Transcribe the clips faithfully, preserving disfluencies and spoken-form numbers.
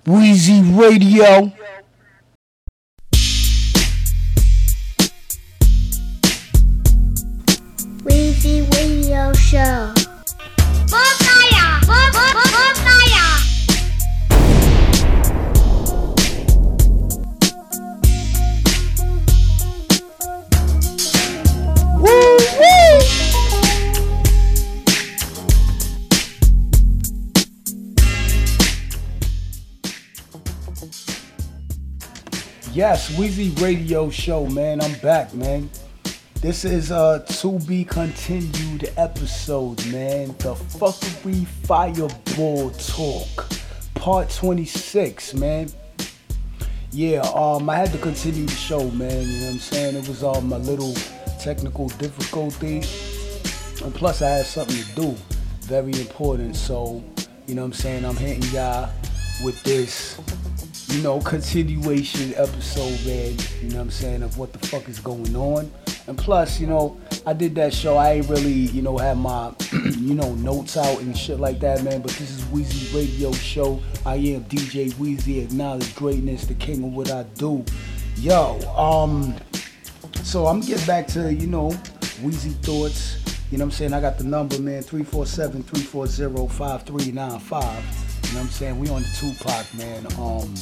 Weezy Radio. Weezy Radio Show. Botaya! Botaya! Woo woo! Yes, Weezy Radio Show, man. I'm back, man. This is a to be continued episode, man. The Fuckery Fireball Talk, part twenty-six, man. Yeah, um, I had to continue the show, man. You know what I'm saying? It was um a little technical difficulty, and plus I had something to do, very important. So, you know what I'm saying? I'm hitting y'all with this, you know, continuation episode, man. You know what I'm saying? Of what the fuck is going on. And plus, you know, I did that show. I ain't really, you know, have my, you know, notes out and shit like that, man. But this is Weezy Radio Show. I am D J Weezy, acknowledge greatness, the king of what I do. Yo, um, so I'm gonna get back to, you know, Weezy thoughts. You know what I'm saying? I got the number, man, three four seven, three four zero, five three nine five. You know what I'm saying? We on the Tupac, man. Um,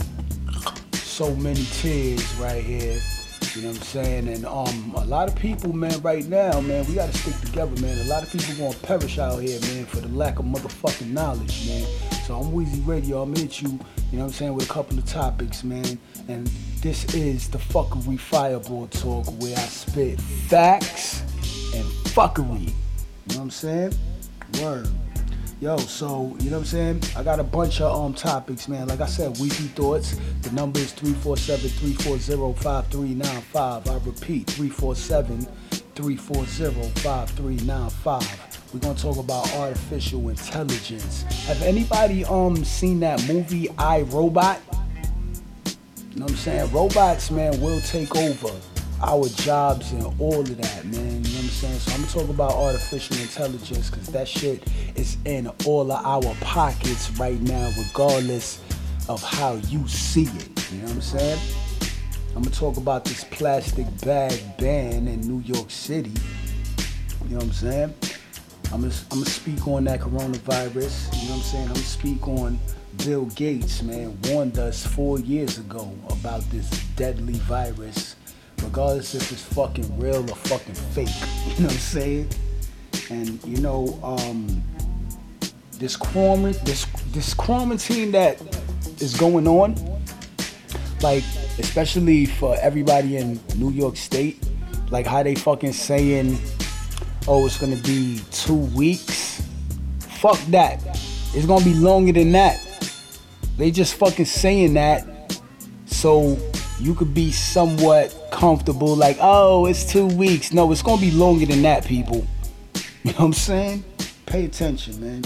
so many tears right here. You know what I'm saying? And um, a lot of people, man, right now, man, we gotta stick together, man. A lot of people gonna perish out here, man, for the lack of motherfucking knowledge, man. So I'm Weezy Radio. I'm hit you, you know what I'm saying, with a couple of topics, man. And this is the Fuckery Fireball Talk, where I spit facts and fuckery. You know what I'm saying? Word. Yo, so, you know what I'm saying? I got a bunch of um topics, man. Like I said, Weezy Thoughts. The number is three four seven, three four zero, five three nine five. I repeat, three four seven, three four zero, five three nine five. We're going to talk about artificial intelligence. Have anybody um seen that movie, I, Robot? You know what I'm saying? Robots, man, will take over our jobs and all of that, man. You know what I'm saying? So I'm gonna talk about artificial intelligence, because that shit is in all of our pockets right now, regardless of how you see it. You know what I'm saying? I'm gonna talk about this plastic bag ban in New York City. You know what I'm saying? I'm gonna, I'm gonna speak on that coronavirus. You know what I'm saying? I'm gonna speak on Bill Gates, man, warned us four years ago about this deadly virus, regardless if it's fucking real or fucking fake. You know what I'm saying? And you know, um, this quarantine, this this quarantine that is going on, like especially for everybody in New York State, like how they fucking saying, oh, it's gonna be two weeks. Fuck that. It's gonna be longer than that. They just fucking saying that so you could be somewhat comfortable, like, oh, it's two weeks. No, it's gonna be longer than that, people. You know what I'm saying? Pay attention, man.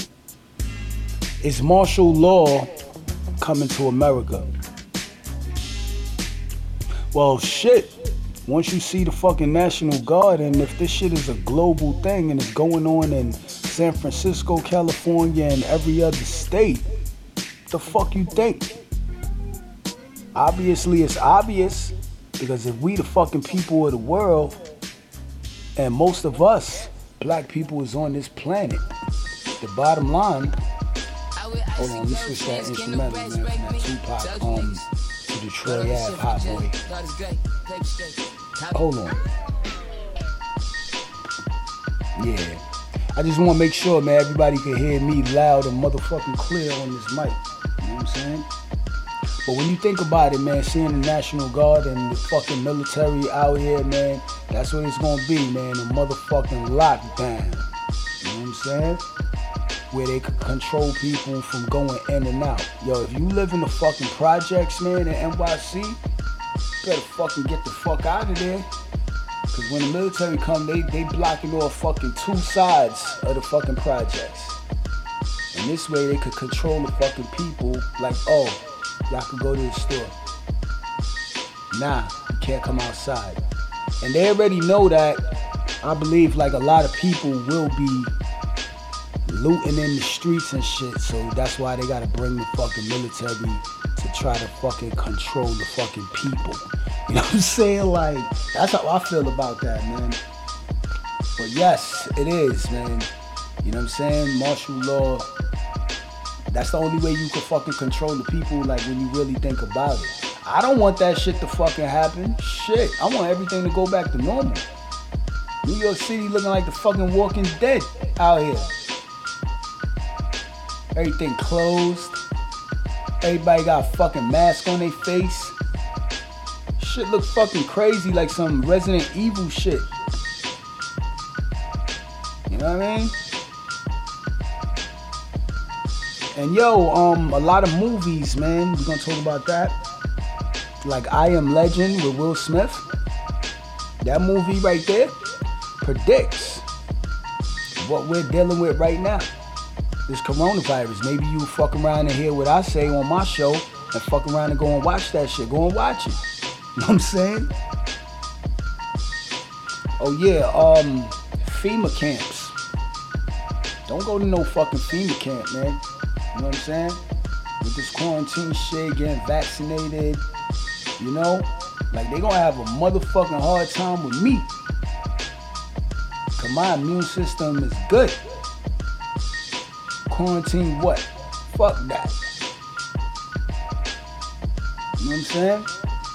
Is martial law coming to America? Well, shit. Once you see the fucking National Guard, and if this shit is a global thing and it's going on in San Francisco, California, and every other state, the fuck you think? Obviously, it's obvious, because if we the fucking people of the world, and most of us, black people, is on this planet, the bottom line, hold on, let me switch that instrumental, man, from that Tupac, um, to the Troy Ave Hot Boy. Hold on. Yeah. I just want to make sure, man, everybody can hear me loud and motherfucking clear on this mic. You know what I'm saying? But when you think about it, man, seeing the National Guard and the fucking military out here, man, that's what it's gonna be, man, a motherfucking lockdown. You know what I'm saying? Where they could control people from going in and out. Yo, if you live in the fucking projects, man, in N Y C, you better fucking get the fuck out of there. Cause when the military come, they, they blocking off fucking two sides of the fucking projects. And this way they could control the fucking people, like, oh, y'all can go to the store. Nah, you can't come outside. And they already know that. I believe like a lot of people will be looting in the streets and shit. So that's why they gotta bring the fucking military to try to fucking control the fucking people. You know what I'm saying? Like, that's how I feel about that, man. But yes, it is, man. You know what I'm saying? Martial law, that's the only way you can fucking control the people, like, when you really think about it. I don't want that shit to fucking happen. Shit, I want everything to go back to normal. New York City looking like the fucking Walking Dead out here. Everything closed. Everybody got a fucking mask on their face. Shit look fucking crazy, like some Resident Evil shit. You know what I mean? And yo, um, a lot of movies, man. We're gonna talk about that. Like I Am Legend with Will Smith. That movie right there predicts what we're dealing with right now. This coronavirus. Maybe you fuck around and hear what I say on my show and fuck around and go and watch that shit. Go and watch it. You know what I'm saying? Oh yeah, um, FEMA camps. Don't go to no fucking FEMA camp, man. You know what I'm saying? With this quarantine shit, getting vaccinated, you know? Like, they gonna have a motherfucking hard time with me. Cause my immune system is good. Quarantine what? Fuck that. You know what I'm saying?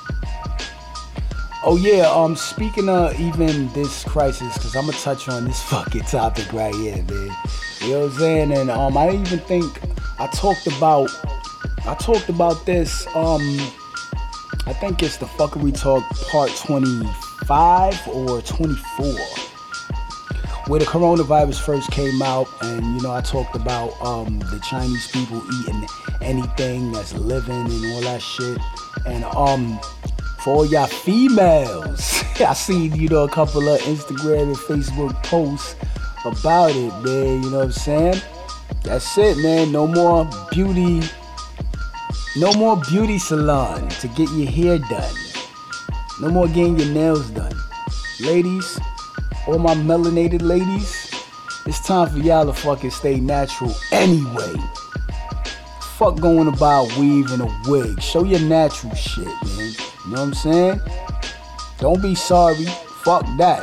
Oh yeah, um, speaking of even this crisis, cause I'm gonna touch on this fucking topic right here, man. You know what I'm saying? And um, I didn't even think I talked about, I talked about this, um, I think it's the Fuckery Talk part twenty-five or twenty-four. Where the coronavirus first came out, and you know I talked about um, the Chinese people eating anything that's living and all that shit. And um, for all y'all females, I seen you know a couple of Instagram and Facebook posts about it, man. You know what I'm saying? That's it, man. No more beauty, no more beauty salon to get your hair done. No more getting your nails done, ladies. All my melanated ladies, it's time for y'all to fucking stay natural anyway. Fuck going to buy a weave and a wig. Show your natural shit, man. You know what I'm saying? Don't be sorry. Fuck that.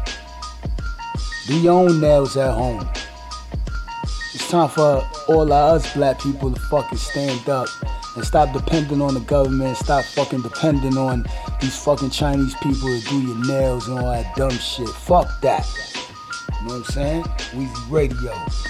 Do your own nails at home. It's time for all of us black people to fucking stand up and stop depending on the government. Stop fucking depending on these fucking Chinese people to do your nails and all that dumb shit. Fuck that. You know what I'm saying? Weezy Radio.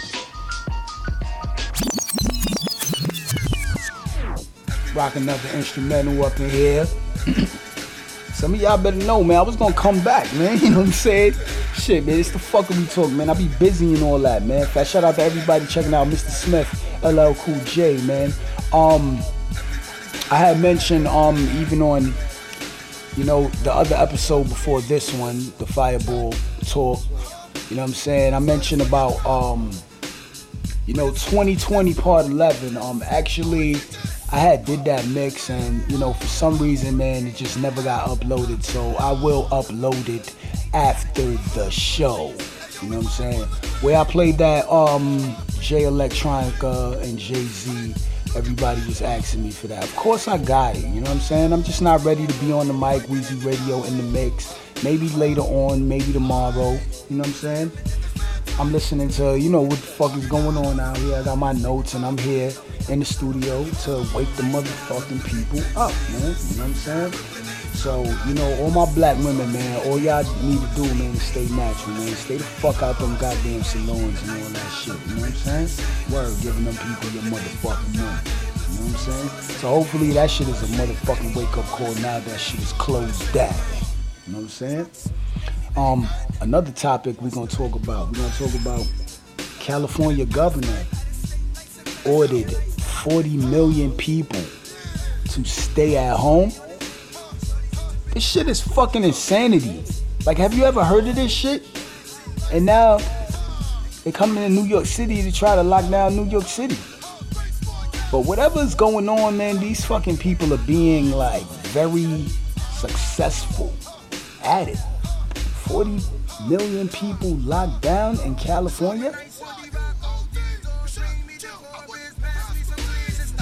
Rock another instrumental up in here. Some of y'all better know, man. I was gonna come back, man. You know what I'm saying? Shit, man. It's the Fuckery Talk, man. I be busy and all that, man. Fat shout out to everybody checking out Mister Smith, L L Cool J, man. Um, I had mentioned, um, even on, you know, the other episode before this one, the Fireball Talk, you know what I'm saying? I mentioned about, um, you know, twenty twenty part eleven. Um, actually, I had did that mix and, you know, for some reason, man, it just never got uploaded. So I will upload it after the show. You know what I'm saying? Where I played that, um, Jay Electronica and Jay-Z. Everybody was asking me for that. Of course I got it, you know what I'm saying? I'm just not ready to be on the mic, Weezy Radio in the mix. Maybe later on, maybe tomorrow, you know what I'm saying? I'm listening to, you know, what the fuck is going on out here. I got my notes and I'm here in the studio to wake the motherfucking people up, man. You know what I'm saying? So, you know, all my black women, man, all y'all need to do, man, is stay natural, man. Stay the fuck out them goddamn salons and all that shit, you know what I'm saying? Word, giving them people your motherfucking money, you know what I'm saying? So hopefully that shit is a motherfucking wake-up call now that shit is closed down, you know what I'm saying? Um, another topic we're gonna talk about, we're gonna talk about California governor ordered forty million people to stay at home. This shit is fucking insanity. Like, have you ever heard of this shit? And now they coming to New York City to try to lock down New York City. But whatever's going on, man, these fucking people are being like very successful at it. forty million people locked down in California?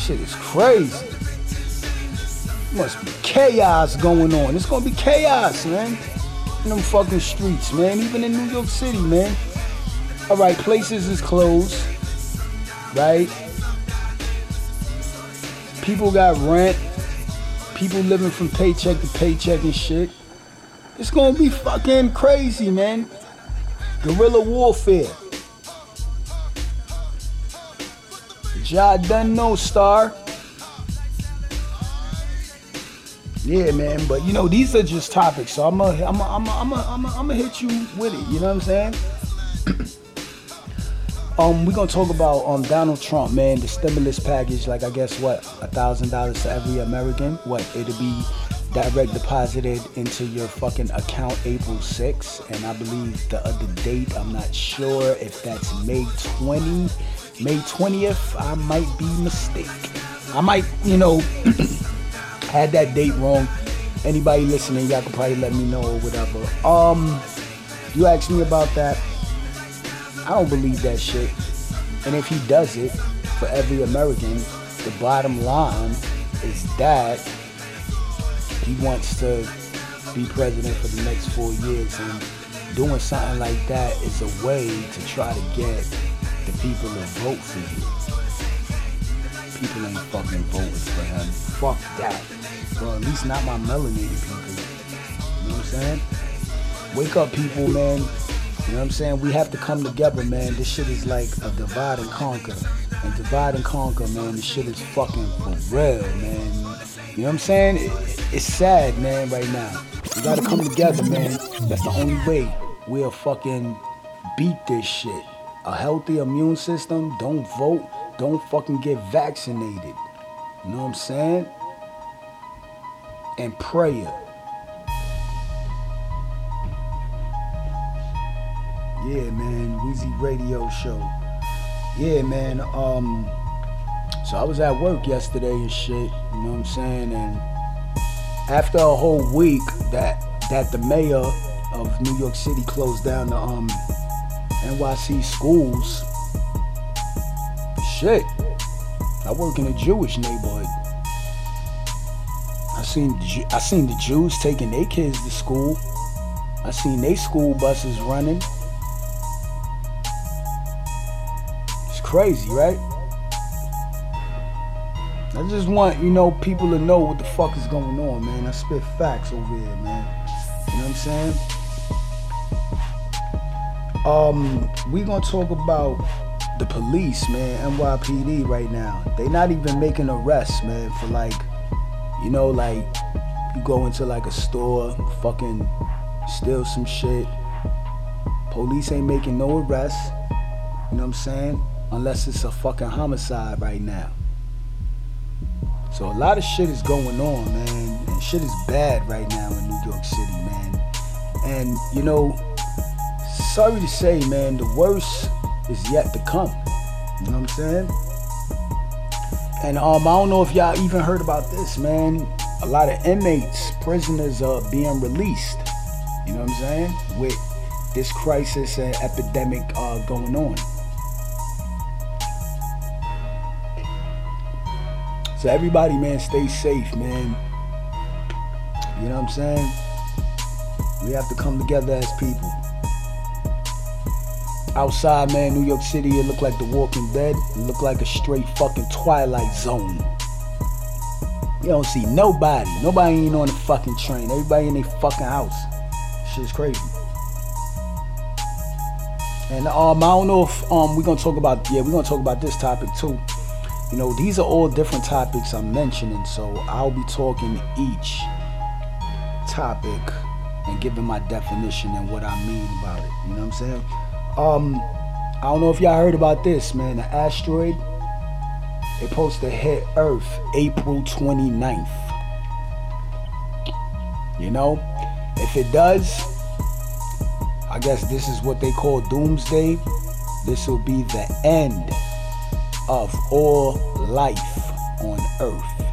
Shit is crazy. Must be chaos going on. It's gonna be chaos, man. In them fucking streets, man. Even in New York City, man. Alright, places is closed. Right? People got rent. People living from paycheck to paycheck and shit. It's gonna be fucking crazy, man. Guerrilla warfare. Ja done no star. Yeah, man, but you know, these are just topics, so I'm gonna I'm I'm I'm I'm I'm gonna hit you with it, you know what I'm saying? um, we're gonna talk about um Donald Trump, man, the stimulus package, like I guess what, a thousand dollars to every American? What, it'll be direct deposited into your fucking account April sixth, and I believe the other date, I'm not sure if that's May twentieth. May twentieth, I might be mistaken. I might, you know, had that date wrong. Anybody listening, y'all could probably let me know or whatever. Um, you asked me about that. I don't believe that shit. And if he does it for every American, the bottom line is that he wants to be president for the next four years, and doing something like that is a way to try to get the people to vote for you. People ain't fucking voting for him. Fuck that. Well, at least not my melanated people. You know what I'm saying? Wake up, people, man. You know what I'm saying? We have to come together, man. This shit is like a divide and conquer. And divide and conquer, man, this shit is fucking for real, man. You know what I'm saying? It, it's sad, man, right now. We gotta come together, man. That's the only way we'll fucking beat this shit. A healthy immune system, don't vote, don't fucking get vaccinated. You know what I'm saying? And prayer. Yeah, man, Weezy Radio Show. Yeah, man, um, so I was at work yesterday and shit, you know what I'm saying? And after a whole week that that the mayor of New York City closed down the um N Y C schools, shit, I work in a Jewish neighborhood. I seen I seen the Jews taking their kids to school. I seen their school buses running. It's crazy, right? I just want, you know, people to know what the fuck is going on, man. I spit facts over here, man. You know what I'm saying? Um, we gonna talk about the police, man, N Y P D right now. They not even making arrests, man, for like, you know, like, you go into like a store, fucking steal some shit. Police ain't making no arrests, you know what I'm saying? Unless it's a fucking homicide right now. So a lot of shit is going on, man, and shit is bad right now in New York City, man. And, you know, sorry to say, man, the worst is yet to come. You know what I'm saying? And um, I don't know if y'all even heard about this, man. A lot of inmates, prisoners are being released. You know what I'm saying? With this crisis and epidemic uh, going on. So everybody, man, stay safe, man. You know what I'm saying? We have to come together as people. Outside, man, New York City, it looked like The Walking Dead. It looked like a straight fucking Twilight Zone. You don't see nobody. Nobody ain't on the fucking train. Everybody in their fucking house. Shit's crazy. And um, I don't know if um we're gonna talk about yeah we're gonna talk about this topic too. You know, these are all different topics I'm mentioning, so I'll be talking each topic and giving my definition and what I mean about it. You know what I'm saying? Um, I don't know if y'all heard about this, man. The asteroid, it's supposed to hit Earth April twenty-ninth. You know, if it does, I guess this is what they call doomsday. This will be the end of all life on Earth.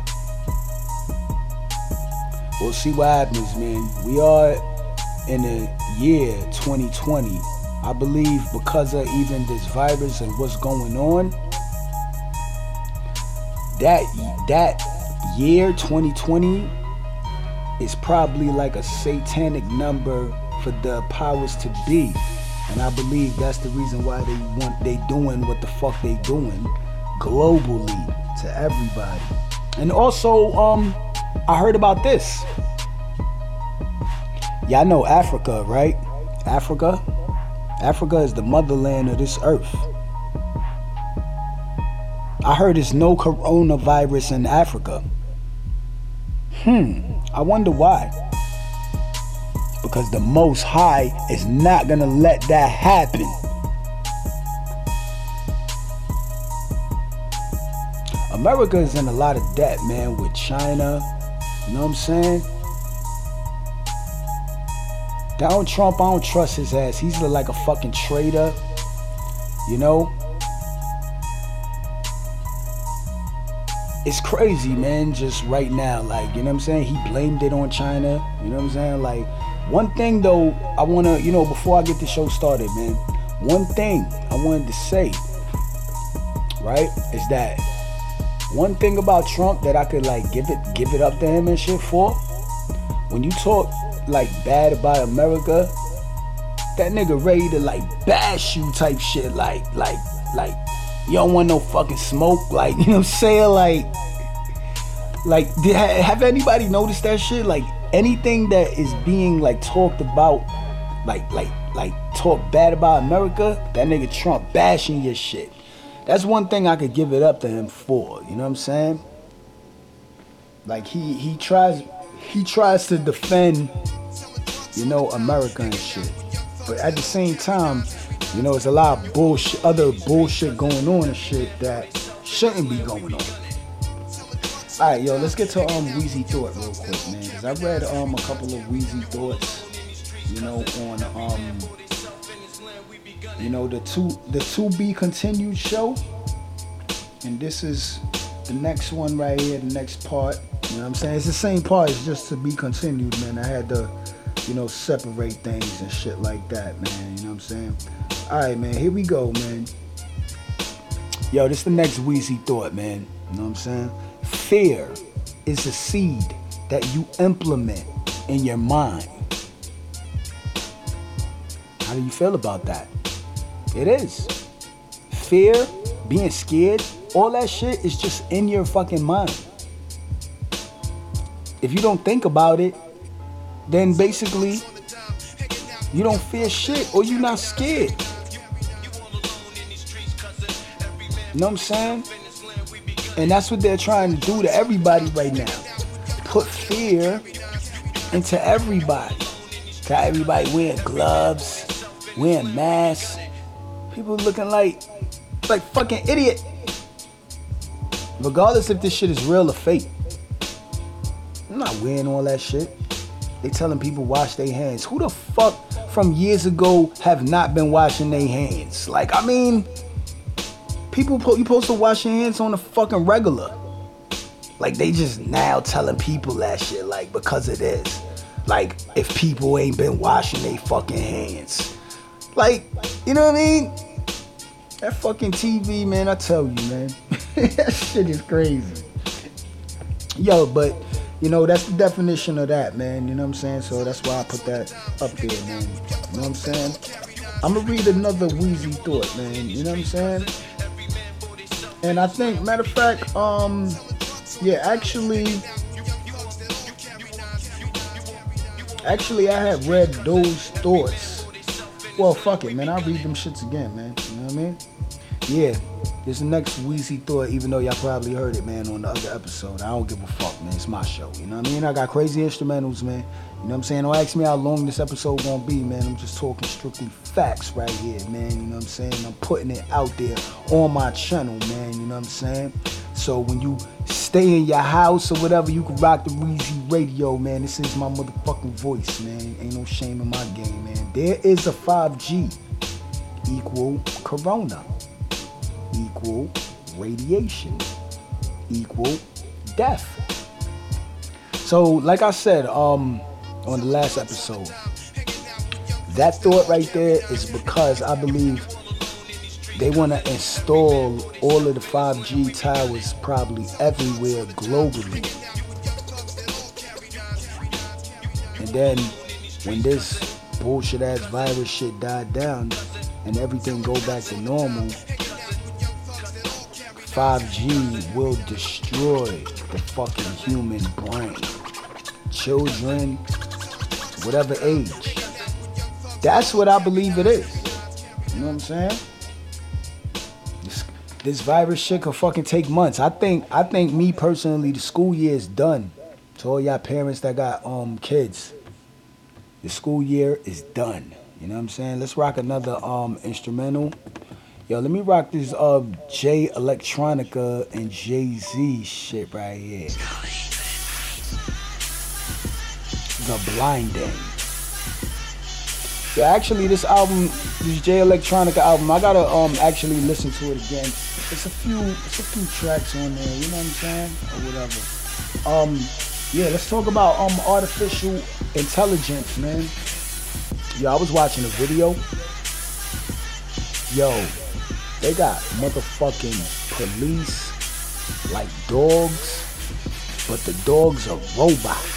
We'll see what happens, man. We are in the year twenty twenty. I believe because of even this virus and what's going on, that that year twenty twenty is probably like a satanic number for the powers to be, and I believe that's the reason why they want they doing what the fuck they doing globally to everybody. And also, um, I heard about this. Y'all know Africa, right? Africa, Africa is the motherland of this earth. I heard there's no coronavirus in Africa. Hmm, I wonder why. Because the Most High is not gonna let that happen. America is in a lot of debt, man, with China. You know what I'm saying? Donald Trump, I don't trust his ass. He's like a fucking traitor. You know? It's crazy, man, just right now. Like, you know what I'm saying? He blamed it on China. You know what I'm saying? Like, one thing, though, I want to, you know, before I get the show started, man, one thing I wanted to say, right, is that one thing about Trump that I could, like, give it give it up to him and shit for, when you talk, like, bad about America, that nigga ready to, like, bash you type shit, like, like, like, you don't want no fucking smoke, like, you know what I'm saying, like, like, did, have anybody noticed that shit, like, anything that is being, like, talked about, like, like, like, talk bad about America, that nigga Trump bashing your shit. That's one thing I could give it up to him for, you know what I'm saying? Like, he, he tries, he tries to defend, you know, America and shit. But at the same time, you know, there's a lot of bullshit, other bullshit going on and shit that shouldn't be going on. All right, yo, let's get to um Weezy Thought real quick, man, because I read um a couple of Weezy Thoughts, you know, on um you know the two the to be continued show, and this is the next one right here, the next part. You know what I'm saying? It's the same part, it's just to be continued, man. I had to, you know, separate things and shit like that, man. You know what I'm saying? All right, man, here we go, man. Yo, this is the next Weezy Thought, man. You know what I'm saying? Fear is a seed that you implement in your mind. How do you feel about that? It is. Fear, being scared, all that shit is just in your fucking mind. If you don't think about it, then basically you don't fear shit or you're not scared. You know what I'm saying? And that's what they're trying to do to everybody right now. Put fear into everybody. Got everybody wearing gloves, wearing masks. People looking like, like fucking idiot. Regardless if this shit is real or fake. I'm not wearing all that shit. They telling people wash their hands. Who the fuck from years ago have not been washing their hands? Like, I mean, people, you supposed to wash your hands on a fucking regular. Like, they just now telling people that shit, like, because it is. Like, if people ain't been washing their fucking hands. Like, you know what I mean? That fucking T V, man, I tell you, man. That shit is crazy. Yo, but, you know, that's the definition of that, man. You know what I'm saying? So that's why I put that up there, man. You know what I'm saying? I'm gonna read another Weezy Thought, man. You know what I'm saying? And I think, matter of fact, um, yeah, actually, actually, I had read those thoughts. Well, fuck it, man. I'll read them shits again, man. You know what I mean? Yeah, this is the next Weezy Thought, even though y'all probably heard it, man, on the other episode. I don't give a fuck, man. It's my show, you know what I mean? I got crazy instrumentals, man. You know what I'm saying? Don't ask me how long this episode gonna be, man. I'm just talking strictly facts right here, man. You know what I'm saying? I'm putting it out there on my channel, man. You know what I'm saying? So when you stay in your house or whatever, you can rock the Weezy Radio, man. This is my motherfucking voice, man. Ain't no shame in my game, man. There is a five G equal corona, equal radiation, equal death. So, like I said, um, on the last episode, that thought right there is because I believe they want to install all of the five G towers probably everywhere globally. And then when this bullshit ass virus shit died down and everything go back to normal, five G will destroy the fucking human brain. Children, whatever age. That's what I believe it is. You know what I'm saying? This, this virus shit could fucking take months. I think, I think me personally, the school year is done. To all y'all parents that got um kids, the school year is done. You know what I'm saying? Let's rock another um instrumental. Yo, let me rock this uh Jay Electronica and Jay-Z shit right here. The Blinding. Yeah, actually this album, this Jay Electronica album, I gotta um actually listen to it again. It's a few, it's a few tracks on there, you know what I'm saying? Or whatever. Um, yeah, let's talk about um artificial intelligence, man. Yo, I was watching a video. Yo, they got motherfucking police like dogs, but the dogs are robots.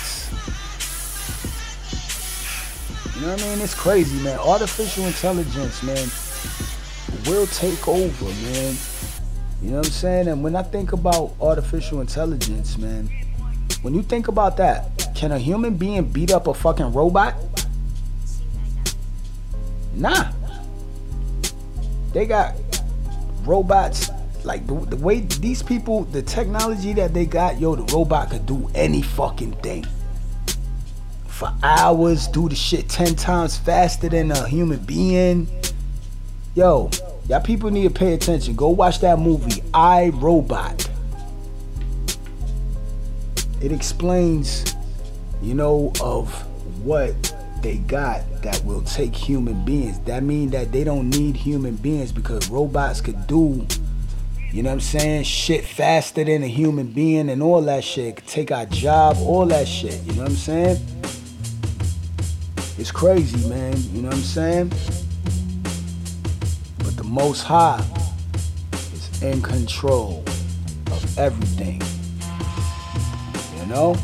You know what I mean? It's crazy, man. Artificial intelligence, man, will take over, man. You know what I'm saying? And when I think about artificial intelligence, man, when you think about that, can a human being beat up a fucking robot? Nah. They got robots, like the, the way these people, the technology that they got, yo, the robot could do any fucking thing. For hours, do the shit ten times faster than a human being. Yo, y'all people need to pay attention. Go watch that movie, I, Robot. It explains, you know, of what they got that will take human beings. That means that they don't need human beings because robots could do, you know what I'm saying, shit faster than a human being and all that shit. Could take our job, all that shit, you know what I'm saying? It's crazy, man, you know what I'm saying? But the Most High is in control of everything, you know?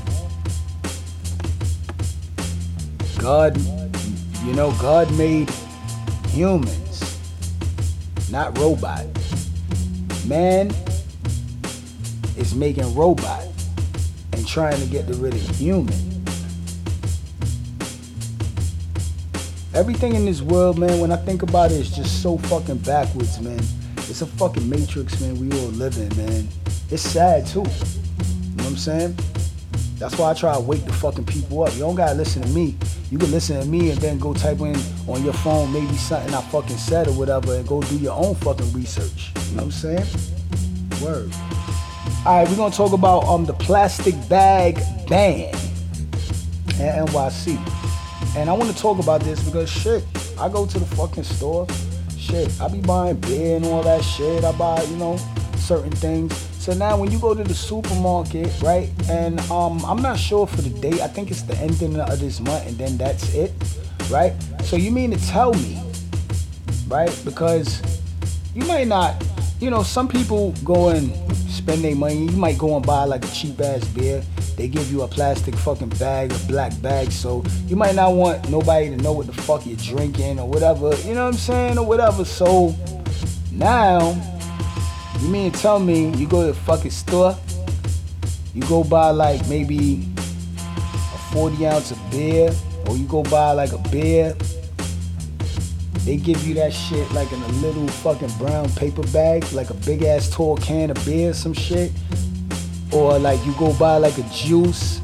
God, you know, God made humans, not robots. Man is making robot and trying to get rid of human. Everything in this world, man, when I think about it, is just so fucking backwards, man. It's a fucking matrix, man, we all live in, man. It's sad, too. You know what I'm saying? That's why I try to wake the fucking people up. You don't gotta listen to me. You can listen to me and then go type in on your phone maybe something I fucking said or whatever and go do your own fucking research. You know what I'm saying? Word. Alright, we're gonna talk about um the plastic bag ban at N Y C. And I want to talk about this because shit, I go to the fucking store, shit, I be buying beer and all that shit. I buy, you know, certain things. So now when you go to the supermarket, right, and um, I'm not sure for the date, I think it's the ending of this month and then that's it, right? So you mean to tell me, right, because you might not, you know, some people go and spend their money. You might go and buy like a cheap ass beer. They give you a plastic fucking bag, a black bag, so you might not want nobody to know what the fuck you're drinking or whatever, you know what I'm saying, or whatever. So now, you mean to tell me you go to the fucking store, you go buy like maybe a forty ounce of beer, or you go buy like a beer, they give you that shit like in a little fucking brown paper bag, like a big ass tall can of beer, some shit. Or like you go buy like a juice,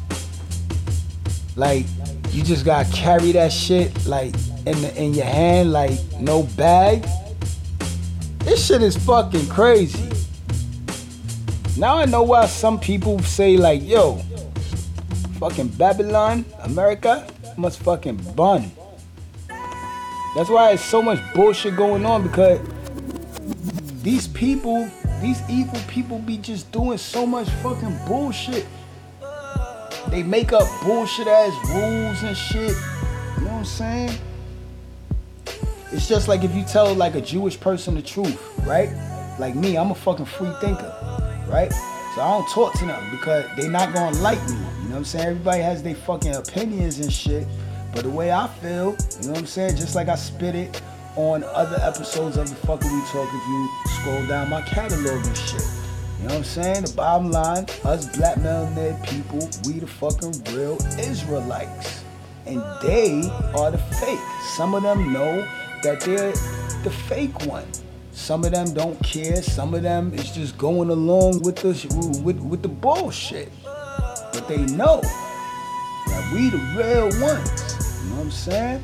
like you just gotta carry that shit like in the, in your hand, like no bag. This shit is fucking crazy. Now I know why some people say like, yo, fucking Babylon, America must fucking bun. That's why there's so much bullshit going on, because these people, these evil people be just doing so much fucking bullshit. They make up bullshit ass rules and shit. You know what I'm saying? It's just like if you tell like a Jewish person the truth, right? Like me, I'm a fucking free thinker, right? So I don't talk to them because they not gonna like me. You know what I'm saying? Everybody has their fucking opinions and shit. But the way I feel, you know what I'm saying? Just like I spit it on other episodes of the fucking We Talk, if you scroll down my catalog and shit. You know what I'm saying? The bottom line, us black melanated people, we the fucking real Israelites. And they are the fake. Some of them know that they're the fake one. Some of them don't care. Some of them is just going along with the with, with the bullshit. But they know that we the real ones. You know what I'm saying?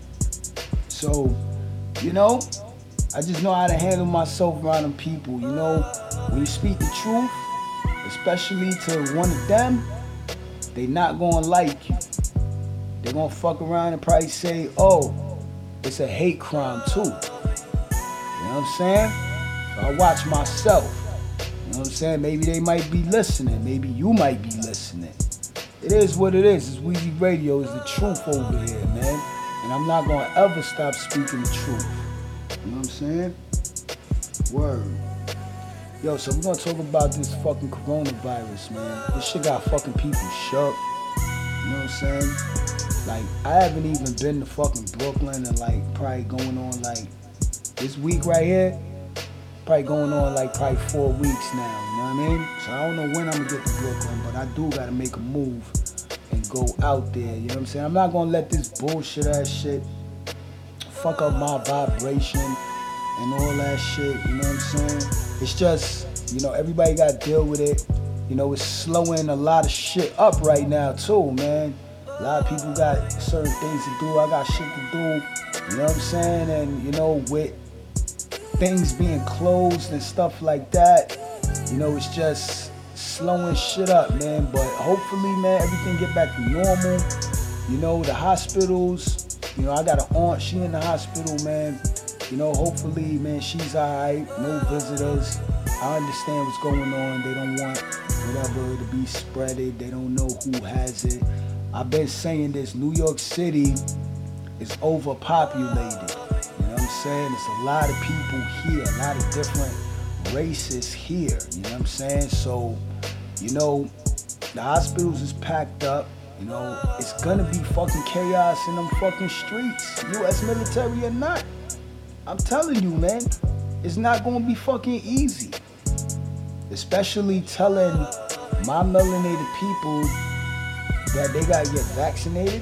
So, you know, I just know how to handle myself around them people. You know, when you speak the truth, especially to one of them, they not gonna like you. They gonna fuck around and probably say, oh, it's a hate crime too. You know what I'm saying? So I watch myself. You know what I'm saying? Maybe they might be listening. Maybe you might be listening. It is what it is. It's Weezy Radio. It's the truth over here, man. And I'm not gonna ever stop speaking the truth. You know what I'm saying? Word. Yo, so we're gonna talk about this fucking coronavirus, man. This shit got fucking people shook. You know what I'm saying? Like, I haven't even been to fucking Brooklyn and like probably going on like this week right here, probably going on like probably four weeks now, you know what I mean? So I don't know when I'm gonna get to Brooklyn, but I do gotta make a move and go out there, you know what I'm saying? I'm not gonna let this bullshit ass shit fuck up my vibration and all that shit, you know what I'm saying? It's just, you know, everybody gotta deal with it. You know, it's slowing a lot of shit up right now too, man. A lot of people got certain things to do. I got shit to do, you know what I'm saying? And, you know, with things being closed and stuff like that, you know, it's just slowing shit up, man. But hopefully, man, everything get back to normal. You know, the hospitals, you know, I got an aunt, she in the hospital, man. You know, hopefully, man, she's all right, no visitors. I understand what's going on. They don't want whatever to be spreaded. They don't know who has it. I've been saying this, New York City is overpopulated. You know what I'm saying? There's a lot of people here, a lot of different races here. You know what I'm saying? So, you know, the hospitals is packed up. You know, it's gonna be fucking chaos in them fucking streets, U S military or not. I'm telling you, man, it's not gonna be fucking easy. Especially telling my melanated people that they gotta get vaccinated.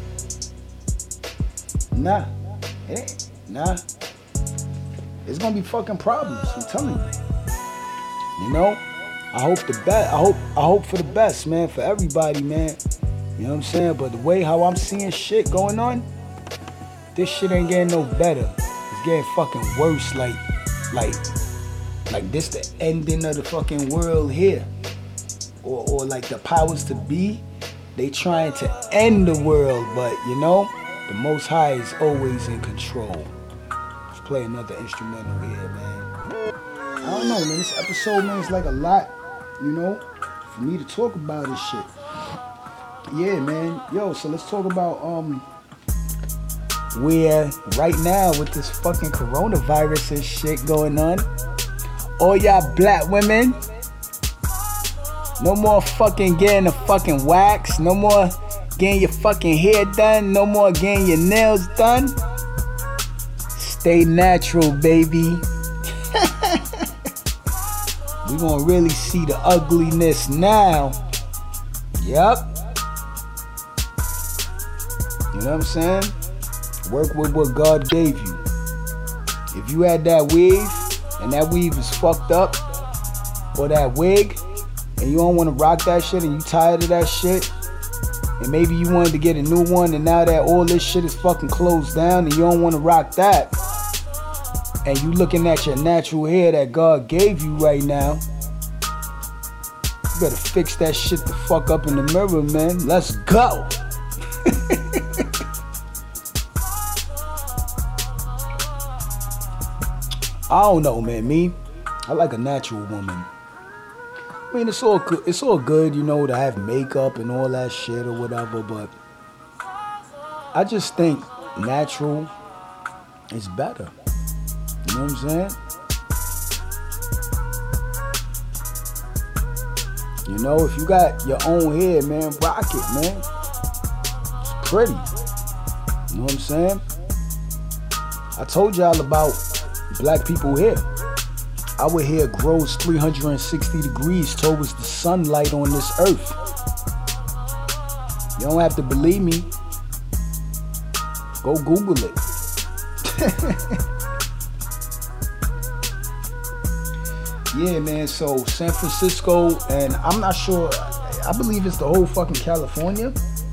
Nah, it ain't. Nah. It's gonna be fucking problems, I'm telling you. You know? I hope the best. I hope I hope for the best, man, for everybody, man. You know what I'm saying? But the way how I'm seeing shit going on, this shit ain't getting no better. It's getting fucking worse, like, like, like this the ending of the fucking world here. Or, or like the powers to be, they trying to end the world, but you know, the Most High is always in control. Let's play another instrumental here, man. I don't know, man, this episode, man, is like a lot, you know, for me to talk about this shit. Yeah, man. Yo, so let's talk about um where right now with this fucking coronavirus and shit going on. All y'all black women, no more fucking getting the fucking wax, no more getting your fucking hair done, no more getting your nails done. Stay natural, baby. We gonna really see the ugliness now. Yep. You know what I'm saying? Work with what God gave you. If you had that weave and that weave is fucked up, or that wig, and you don't want to rock that shit and you tired of that shit, and maybe you wanted to get a new one and now that all this shit is fucking closed down and you don't want to rock that, and you looking at your natural hair that God gave you right now, you better fix that shit the fuck up in the mirror, man. Let's go. I don't know, man. Me, I like a natural woman. I mean, it's all good. It's all good, you know, to have makeup and all that shit or whatever. But I just think natural it's better. You know what I'm saying? You know, if you got your own hair, man, rock it, man. It's pretty. You know what I'm saying? I told y'all about black people hair. Our hair grows three hundred sixty degrees towards the sunlight on this earth. You don't have to believe me. Go Google it. Yeah, man, so San Francisco, and I'm not sure, I believe it's the whole fucking California.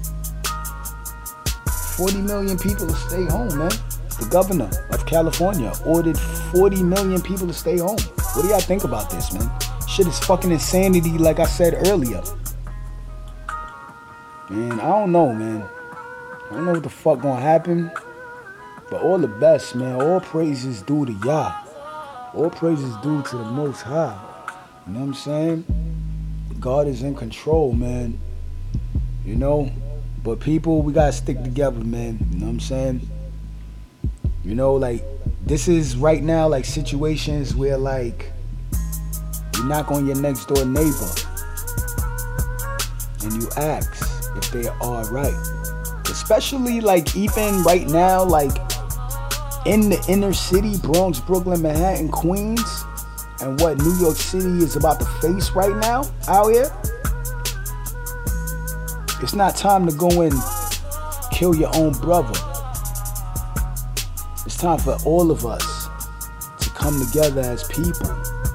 forty million people to stay home, man. The governor of California ordered forty million people to stay home. What do y'all think about this, man? Shit is fucking insanity, like I said earlier. Man, I don't know, man. I don't know what the fuck gonna happen. But all the best, man. All praises due to Yah. All praises due to the Most High. You know what I'm saying? God is in control, man. You know? But people, we gotta stick together, man. You know what I'm saying? You know, like, this is right now, like, situations where, like, you knock on your next door neighbor and you ask if they are right. Especially, like, even right now, like, in the inner city, Bronx, Brooklyn, Manhattan, Queens, and what New York City is about to face right now out here. It's not time to go and kill your own brother. It's time for all of us to come together as people.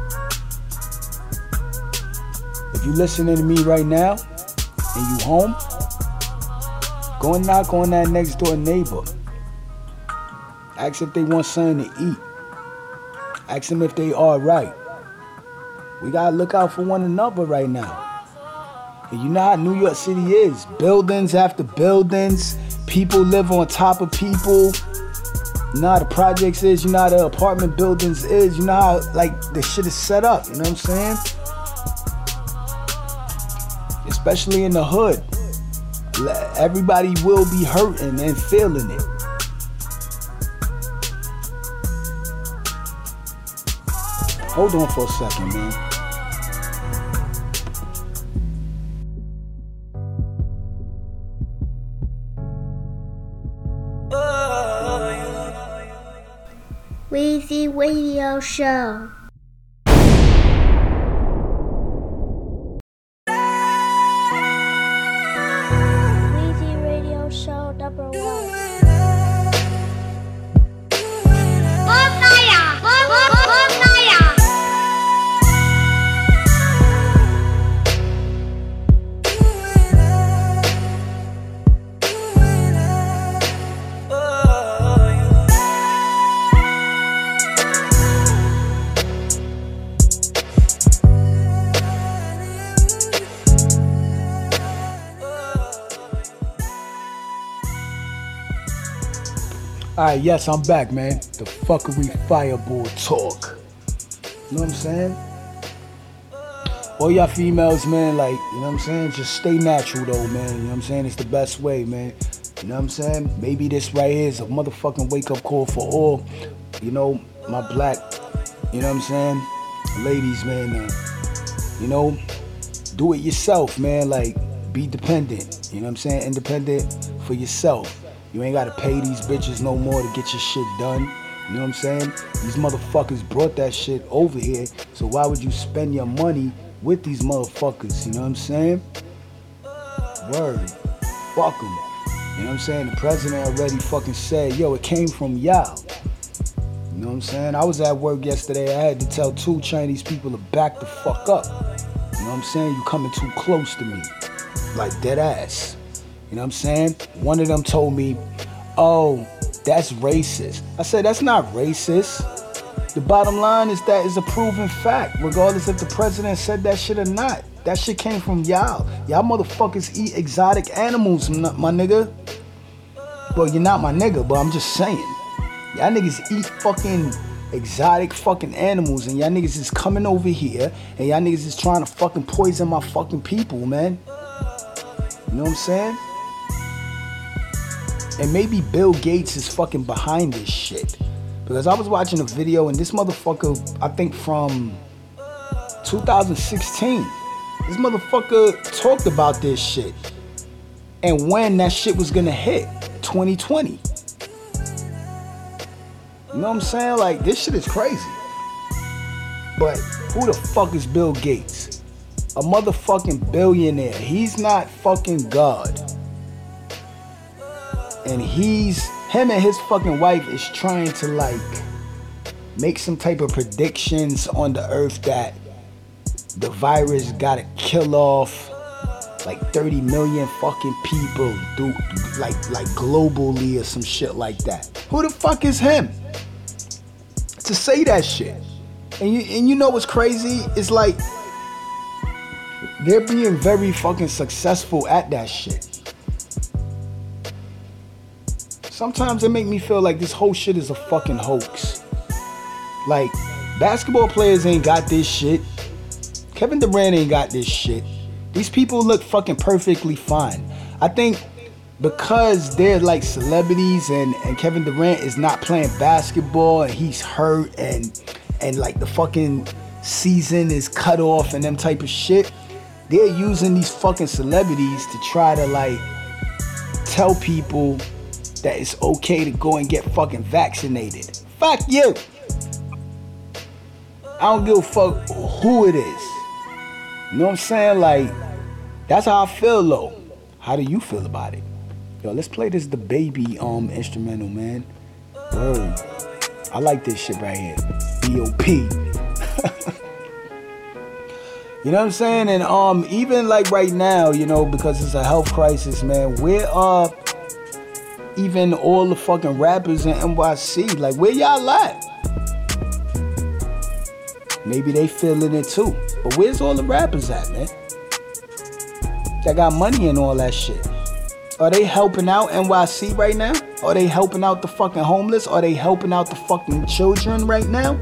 If you're listening to me right now and you home, go and knock on that next door neighbor. Ask if they want something to eat. Ask them if they are right. We gotta look out for one another right now. And you know how New York City is. Buildings after buildings. People live on top of people. You know how the projects is. You know how the apartment buildings is. You know how, like, the shit is set up. You know what I'm saying? Especially in the hood. Everybody will be hurting and feeling it. Hold on for a second, man. Weezy Radio Show. Weezy Radio Show number one. Bonfire! Bonfire! Alright, yes, I'm back, man. The fuckery fireball talk. You know what I'm saying? All y'all females, man, like, you know what I'm saying? Just stay natural, though, man. You know what I'm saying? It's the best way, man. You know what I'm saying? Maybe this right here is a motherfucking wake-up call for all, you know, my black, you know what I'm saying? Ladies, man, uh, you know, do it yourself, man. Like, be dependent. You know what I'm saying? Independent for yourself. You ain't gotta pay these bitches no more to get your shit done. You know what I'm saying? These motherfuckers brought that shit over here, so why would you spend your money with these motherfuckers? You know what I'm saying? Word. Fuck them. You know what I'm saying? The president already fucking said, yo, it came from y'all. You know what I'm saying? I was at work yesterday. I had to tell two Chinese people to back the fuck up. You know what I'm saying? You coming too close to me. Like dead ass. You know what I'm saying? One of them told me, oh, that's racist. I said, that's not racist. The bottom line is that is a proven fact, regardless if the president said that shit or not. That shit came from y'all. Y'all motherfuckers eat exotic animals, my nigga. Well, you're not my nigga, but I'm just saying. Y'all niggas eat fucking exotic fucking animals, and y'all niggas is coming over here, and y'all niggas is trying to fucking poison my fucking people, man. You know what I'm saying? And maybe Bill Gates is fucking behind this shit. Because I was watching a video and this motherfucker, I think from two thousand sixteen, this motherfucker talked about this shit. And when that shit was gonna hit, twenty twenty. You know what I'm saying? Like, this shit is crazy. But who the fuck is Bill Gates? A motherfucking billionaire. He's not fucking God. And he's, him and his fucking wife is trying to like make some type of predictions on the earth that the virus gotta kill off like thirty million fucking people do, like like globally or some shit like that. Who the fuck is him to say that shit? And you and you know what's crazy? It's like they're being very fucking successful at that shit. Sometimes it make me feel like this whole shit is a fucking hoax. Like, basketball players ain't got this shit. Kevin Durant ain't got this shit. These people look fucking perfectly fine. I think because they're like celebrities and, and Kevin Durant is not playing basketball and he's hurt and and like the fucking season is cut off and them type of shit, they're using these fucking celebrities to try to like tell people that it's okay to go and get fucking vaccinated. Fuck you. I don't give a fuck who it is. You know what I'm saying? Like, that's how I feel though. How do you feel about it? Yo, let's play this The Baby um instrumental, man. Word. I like this shit right here. B O P. You know what I'm saying? And um even like right now, you know, because it's a health crisis, man, where are even all the fucking rappers in N Y C? Like, where y'all at? Maybe they feeling it too. But where's all the rappers at, man? That got money and all that shit. Are they helping out N Y C right now? Are they helping out the fucking homeless? Are they helping out the fucking children right now?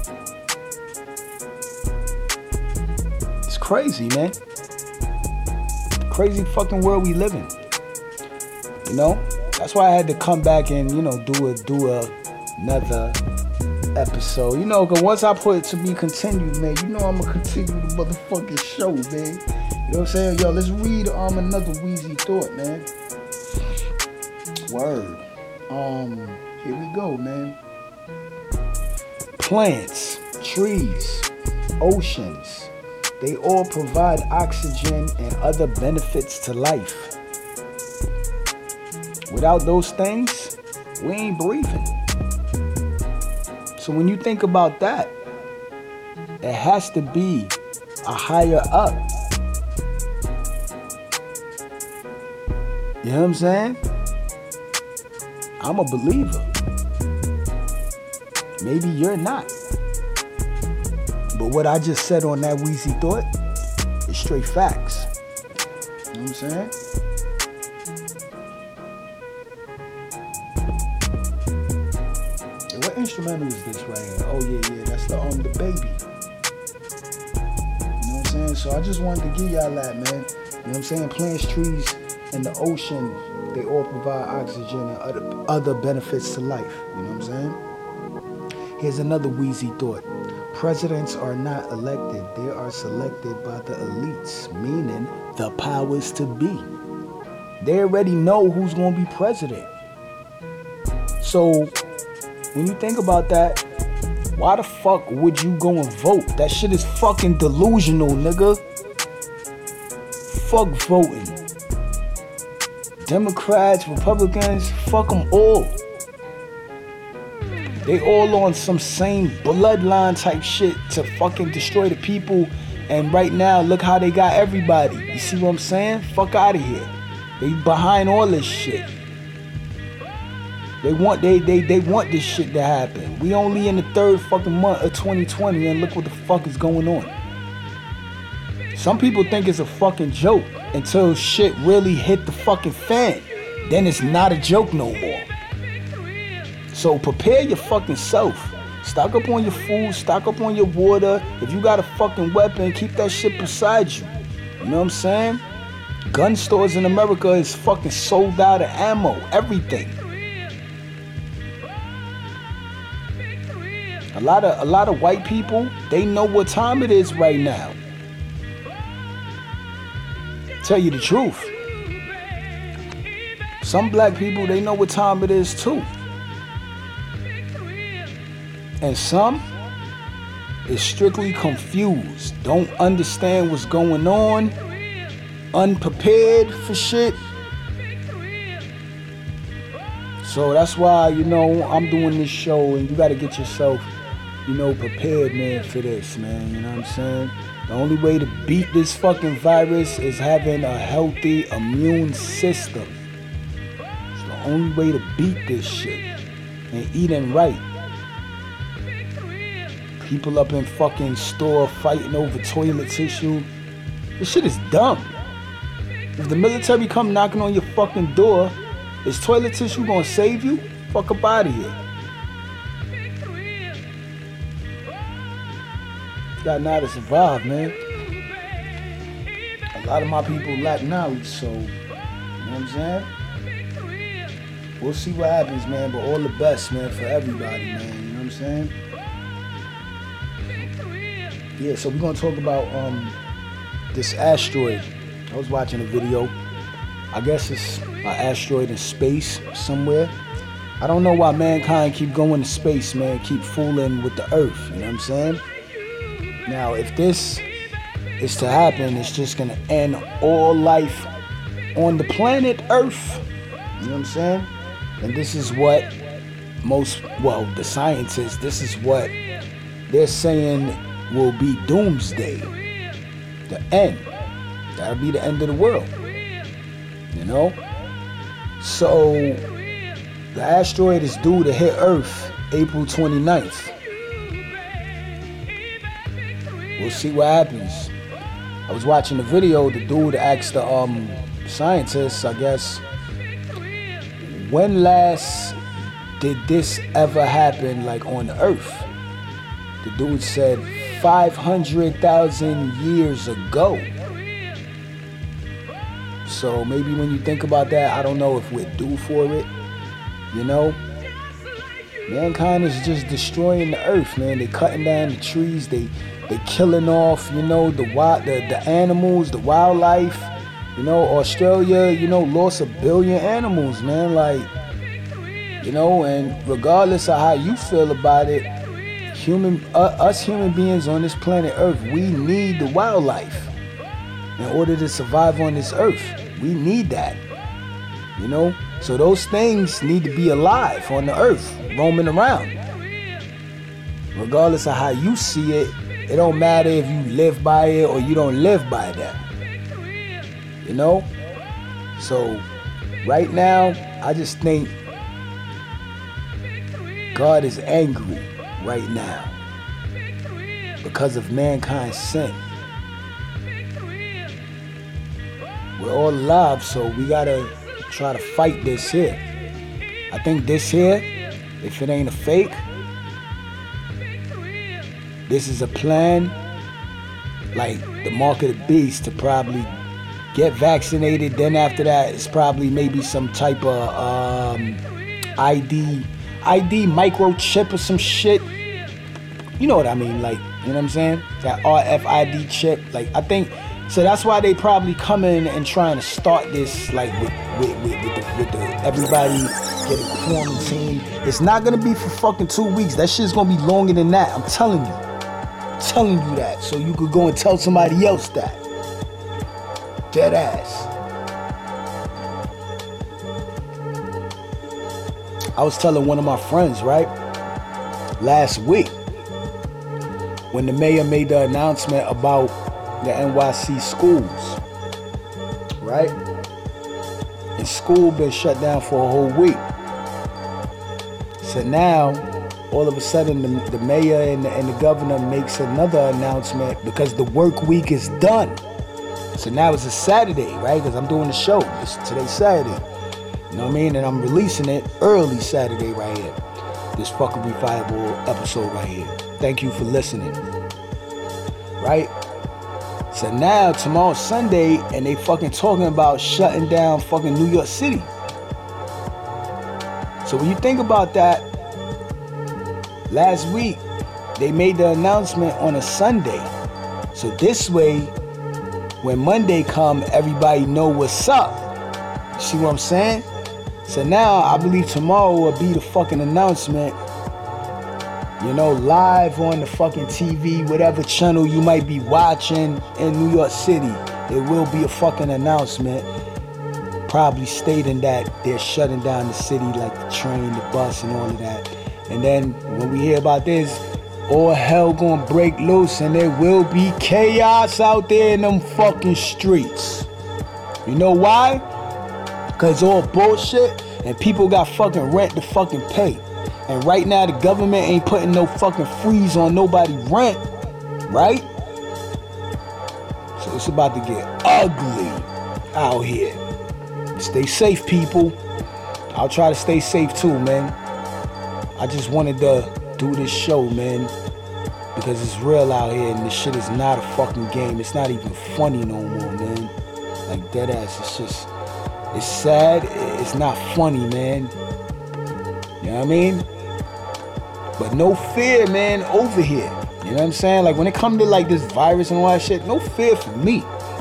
It's crazy, man. Crazy fucking world we live in. You know? That's why I had to come back and, you know, do a do a, another episode. You know, because once I put it to be continued, man, you know I'm going to continue the motherfucking show, man. You know what I'm saying? Yo, let's read um another Wheezy thought, man. Word. Um, here we go, man. Plants, trees, oceans, they all provide oxygen and other benefits to life. Without those things, we ain't breathing. So when you think about that, it has to be a higher up. You know what I'm saying? I'm a believer. Maybe you're not. But what I just said on that Wheezy thought is straight facts. You know what I'm saying? What instrumental is this right here? Oh yeah, yeah, that's the um the baby. You know what I'm saying? So I just wanted to give y'all that, man. You know what I'm saying? Plants, trees, and the ocean, they all provide oxygen and other other benefits to life. You know what I'm saying? Here's another Wheezy thought. Presidents are not elected, they are selected by the elites, meaning the powers to be. They already know who's gonna be president. So when you think about that, why the fuck would you go and vote? That shit is fucking delusional, nigga. Fuck voting. Democrats, Republicans, fuck them all. They all on some same bloodline type shit to fucking destroy the people. And right now, look how they got everybody. You see what I'm saying? Fuck out of here. They behind all this shit. They want they they they want this shit to happen. We only in the third fucking month of twenty twenty and look what the fuck is going on. Some people think it's a fucking joke until shit really hit the fucking fan. Then it's not a joke no more. So prepare your fucking self. Stock up on your food, stock up on your water. If you got a fucking weapon, keep that shit beside you. You know what I'm saying? Gun stores in America is fucking sold out of ammo, everything. A lot of a lot of white people, they know what time it is right now. Tell you the truth. Some black people, they know what time it is too. And some is strictly confused, don't understand what's going on, unprepared for shit. So that's why, you know, I'm doing this show, and you gotta get yourself, you know, prepared, man, for this, man. You know what I'm saying? The only way to beat this fucking virus is having a healthy immune system. It's the only way to beat this shit. And eating right. People up in fucking store fighting over toilet tissue. This shit is dumb. If the military come knocking on your fucking door, is toilet tissue gonna save you? Fuck up out of here. Got now to survive, man. A lot of my people lack knowledge, so, you know what I'm saying? We'll see what happens, man, but all the best, man, for everybody, man, you know what I'm saying? Yeah, so we're gonna talk about um this asteroid. I was watching a video. I guess it's an asteroid in space somewhere. I don't know why mankind keep going to space, man, keep fooling with the Earth, you know what I'm saying? Now, if this is to happen, it's just gonna end all life on the planet Earth. You know what I'm saying? And this is what most, well, the scientists, this is what they're saying will be doomsday. The end. That'll be the end of the world. You know? So, the asteroid is due to hit Earth April twenty-ninth. We'll see what happens. I was watching the video. The dude asked the um scientists, I guess, when last did this ever happen, like on the Earth? The dude said five hundred thousand years ago. So maybe when you think about that, I don't know if we're due for it. You know? Mankind is just destroying the Earth, man. They cutting down the trees. They they killing off, you know, the wild, the, the animals, the wildlife. You know, Australia, you know, lost a billion animals, man. Like, you know, and regardless of how you feel about it, human, uh, us human beings on this planet Earth, we need the wildlife in order to survive on this Earth. We need that, you know. So those things need to be alive on the Earth, roaming around. Regardless of how you see it, it don't matter if you live by it or you don't live by that. You know? So, right now, I just think God is angry right now because of mankind's sin. We're all alive, so we gotta try to fight this here. I think this here, if it ain't a fake, this is a plan, like the mark of the beast, to probably get vaccinated. Then after that, it's probably maybe some type of um, I D, I D microchip or some shit. You know what I mean? Like, you know what I'm saying? That R F I D chip. Like, I think, so that's why they probably come in and trying to start this, like, with, with, with, with, the, with the, everybody getting quarantined. It's not gonna be for fucking two weeks. That shit's gonna be longer than that. I'm telling you. I'm telling you that. So you could go and tell somebody else that. Dead ass. I was telling one of my friends, right, last week, when the mayor made the announcement about the N Y C schools, right? And school been shut down for a whole week. So now, all of a sudden, the, the mayor and the, and the governor makes another announcement because the work week is done. So now it's a Saturday, right? Because I'm doing the show. It's today's Saturday. You know what I mean? And I'm releasing it early Saturday right here. This fucking Refiable episode right here. Thank you for listening. Right? So now tomorrow's Sunday and they fucking talking about shutting down fucking New York City. So when you think about that, last week they made the announcement on a Sunday. So this way, when Monday come, everybody know what's up. You see what I'm saying? So now I believe tomorrow will be the fucking announcement. You know, live on the fucking T V, whatever channel you might be watching in New York City, there will be a fucking announcement probably stating that they're shutting down the city, like the train, the bus, and all of that. And then when we hear about this, all hell gonna break loose and there will be chaos out there in them fucking streets. You know why? Cause all bullshit and people got fucking rent to fucking pay. And right now the government ain't putting no fucking freeze on nobody rent, right? So it's about to get ugly out here. Stay safe, people. I'll try to stay safe too, man. I just wanted to do this show, man, because it's real out here and this shit is not a fucking game. It's not even funny no more, man. Like dead ass. It's just, it's sad. It's not funny, man. You know what I mean? But no fear, man, over here. You know what I'm saying? Like when it comes to like this virus and all that shit, no fear for me.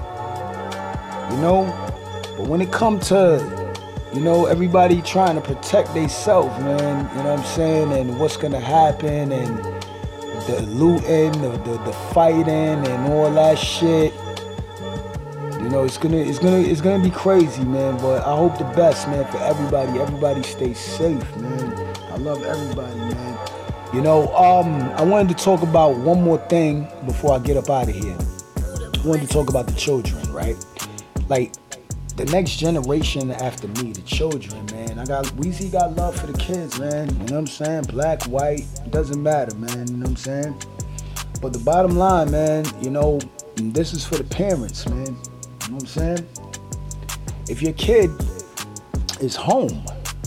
You know? But when it comes to, you know, everybody trying to protect themselves, man, you know what I'm saying? And what's gonna happen and the looting, the, the, the fighting and all that shit. You know, it's gonna it's gonna it's gonna be crazy, man. But I hope the best, man, for everybody. Everybody stay safe, man. I love everybody, man. You know, um, I wanted to talk about one more thing before I get up out of here. I wanted to talk about the children, right? Like the next generation after me, the children, man. I got Weezy got love for the kids, man. You know what I'm saying? Black, white, it doesn't matter, man. You know what I'm saying? But the bottom line, man, you know, this is for the parents, man. You know what I'm saying? If your kid is home,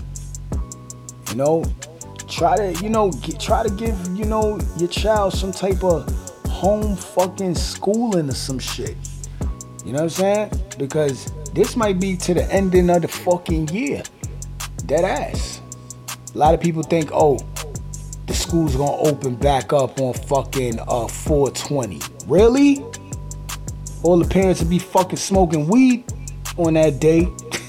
you know, try to, you know, get, try to give, you know, your child some type of home fucking schooling or some shit. You know what I'm saying? Because this might be to the ending of the fucking year. Dead ass. A lot of people think, oh, the school's gonna open back up on fucking uh, four twenty. Really? All the parents will be fucking smoking weed on that day.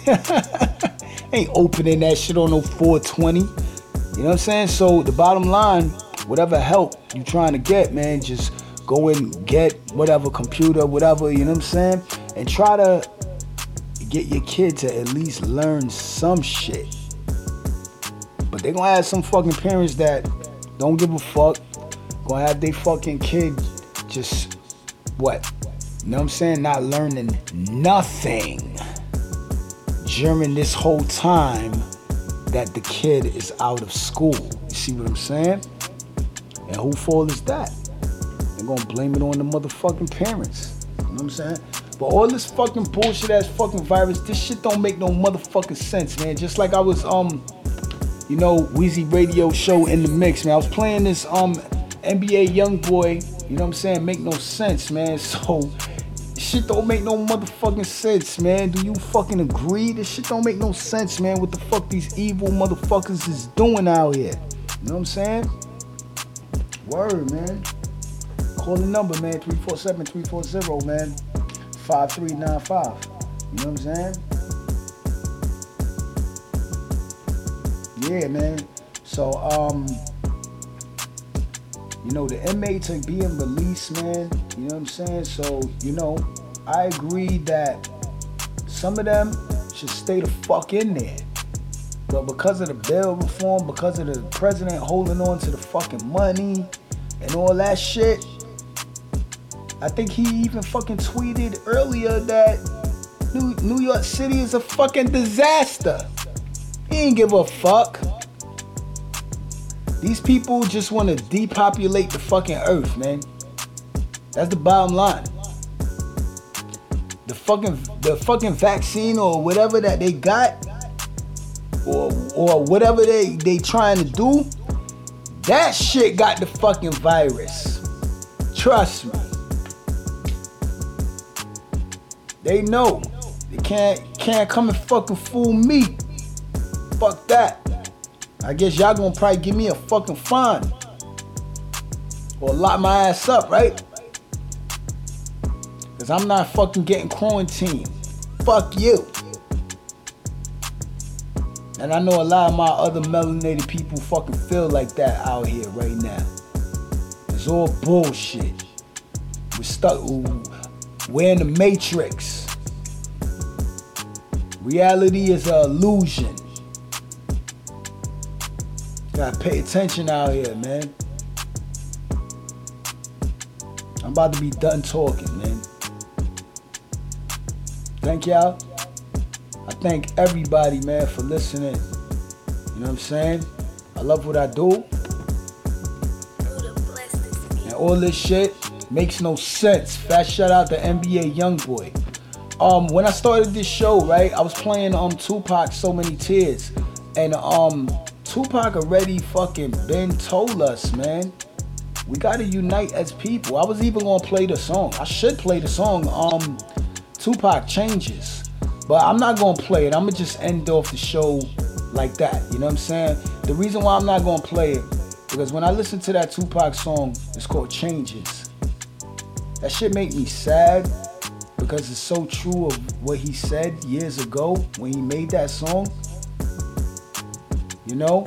Ain't opening that shit on no four twenty. You know what I'm saying? So the bottom line, whatever help you trying to get, man, just go and get whatever computer, whatever, you know what I'm saying? And try to get your kid to at least learn some shit. But they gonna have some fucking parents that don't give a fuck. Gonna have they fucking kid just, what? You know what I'm saying? Not learning nothing during this whole time that the kid is out of school. You see what I'm saying? And who fault is that? They're gonna blame it on the motherfucking parents. You know what I'm saying? But all this fucking bullshit ass fucking virus, this shit don't make no motherfucking sense, man. Just like I was, um, you know, Weezy Radio Show in the mix, man. I was playing this, um, N B A Youngboy, you know what I'm saying? Make no sense, man. So, shit don't make no motherfucking sense, man. Do you fucking agree? This shit don't make no sense, man. What the fuck these evil motherfuckers is doing out here? You know what I'm saying? Word, man. Call the number, man. three four seven, three four zero, man. five three nine five. You know what I'm saying? Yeah, man. So, um, you know, the inmates are being released, man. You know what I'm saying? So, you know, I agree that some of them should stay the fuck in there. But because of the bail reform, because of the president holding on to the fucking money and all that shit, I think he even fucking tweeted earlier that New, New York City is a fucking disaster. He ain't give a fuck. These people just want to depopulate the fucking earth, man. That's the bottom line. The fucking the fucking vaccine or whatever that they got, or or whatever they they trying to do, that shit got the fucking virus. Trust me. They know. They can't can't come and fucking fool me. Fuck that. I guess y'all gonna probably give me a fucking fine. Or lock my ass up, right? Cause I'm not fucking getting quarantined. Fuck you. And I know a lot of my other melanated people fucking feel like that out here right now. It's all bullshit. We're stuck. We're in the matrix. Reality is an illusion. Gotta pay attention out here, man. I'm about to be done talking, man. Thank y'all. I thank everybody, man, for listening. You know what I'm saying? I love what I do. And all this shit makes no sense. Fast shout out to N B A Youngboy. Um, when I started this show, right, I was playing um Tupac So Many Tears. And um Tupac already fucking been told us, man. We gotta unite as people. I was even gonna play the song. I should play the song, um, Tupac Changes. But I'm not gonna play it. I'm gonna just end off the show like that. You know what I'm saying? The reason why I'm not gonna play it, because when I listen to that Tupac song, it's called Changes. That shit make me sad because it's so true of what he said years ago when he made that song. You know?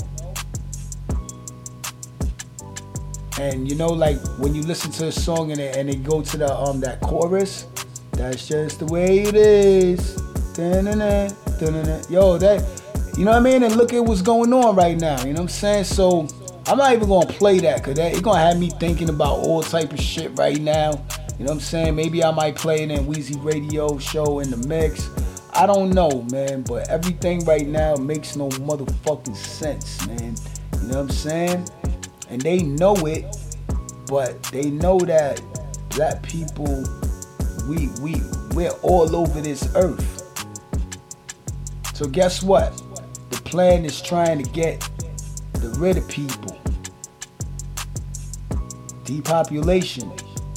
And you know, like when you listen to a song and it, and it go to the um that chorus, that's just the way it is. Dun-dun-dun, dun-dun-dun. Yo, that, you know what I mean? And look at what's going on right now. You know what I'm saying? So I'm not even gonna play that because that it's gonna have me thinking about all type of shit right now. You know what I'm saying? Maybe I might play it in Weezy Radio Show in the mix. I don't know, man. But everything right now makes no motherfucking sense, man. You know what I'm saying? And they know it, but they know that black people, we we we're all over this earth. So guess what? The plan is trying to get rid of people. Depopulation.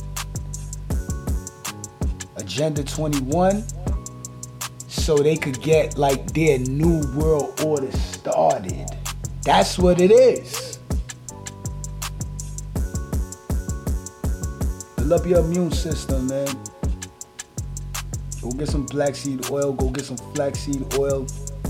Agenda twenty-one. So they could get like their new world order started. That's what it is. Build up your immune system, man. Go get some black seed oil. Go get some flaxseed oil.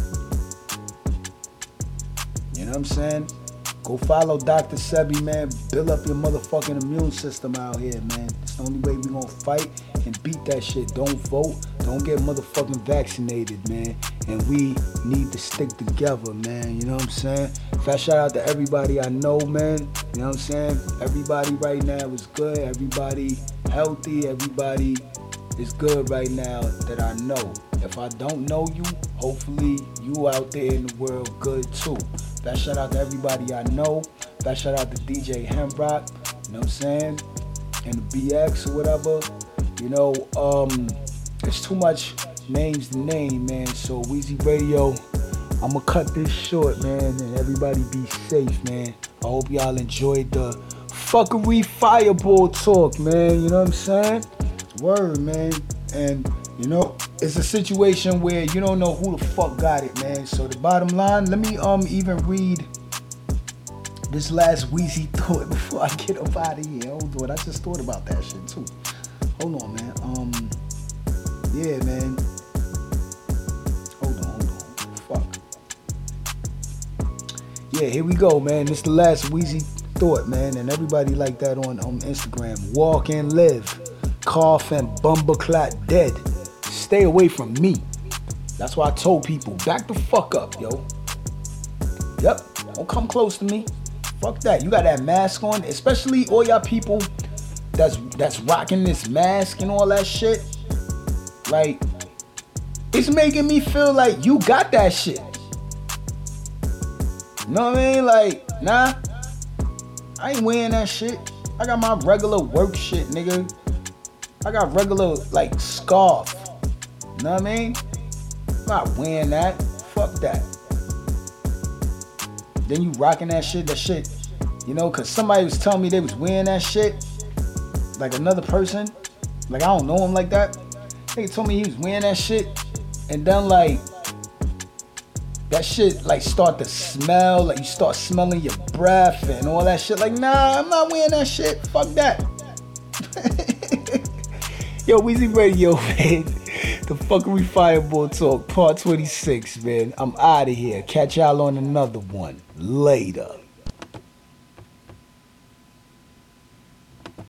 You know what I'm saying? Go follow Doctor Sebi, man. Build up your motherfucking immune system out here, man. It's the only way we gonna fight and beat that shit. Don't vote. Don't get motherfucking vaccinated, man. And we need to stick together, man. You know what I'm saying? Fast shout out to everybody I know, man. You know what I'm saying? Everybody right now is good. Everybody healthy. Everybody is good right now that I know. If I don't know you, hopefully you out there in the world good too. Fast shout out to everybody I know. Fast shout out to D J Hembrock. You know what I'm saying? And the B X or whatever. You know, um, it's too much names to name, man. So Weezy Radio, I'm gonna cut this short, man, and everybody be safe, man. I hope y'all enjoyed the fuckery fireball talk, man. You know what I'm saying? Word, man. And you know, it's a situation where you don't know who the fuck got it, man. So the bottom line, let me um even read this last Weezy thought before I get up out of here. Hold on, I just thought about that shit too. Hold on, man. Um, yeah, man. Hold on, hold on. Fuck. Yeah, here we go, man. This is the last Weezy thought, man. And everybody like that on, on Instagram. Walk and live. Cough and bumbleclot dead. Stay away from me. That's why I told people, back the fuck up, yo. Yep, don't come close to me. Fuck that. You got that mask on, especially all y'all people that's that's rocking this mask and all that shit. Like, it's making me feel like you got that shit. You know what I mean? Like, nah, I ain't wearing that shit. I got my regular work shit, nigga. I got regular, like, scarf. You know what I mean? I'm not wearing that. Fuck that. Then you rocking that shit, that shit, you know, cause somebody was telling me they was wearing that shit, like another person, like I don't know him like that. Nigga told me he was wearing that shit, and then like that shit like start to smell, like you start smelling your breath and all that shit. Like, nah, I'm not wearing that shit. Fuck that. Yo, Weezy Radio, man. The Fuckery Fireball Talk, part twenty-six, man. I'm out of here. Catch y'all on another one later.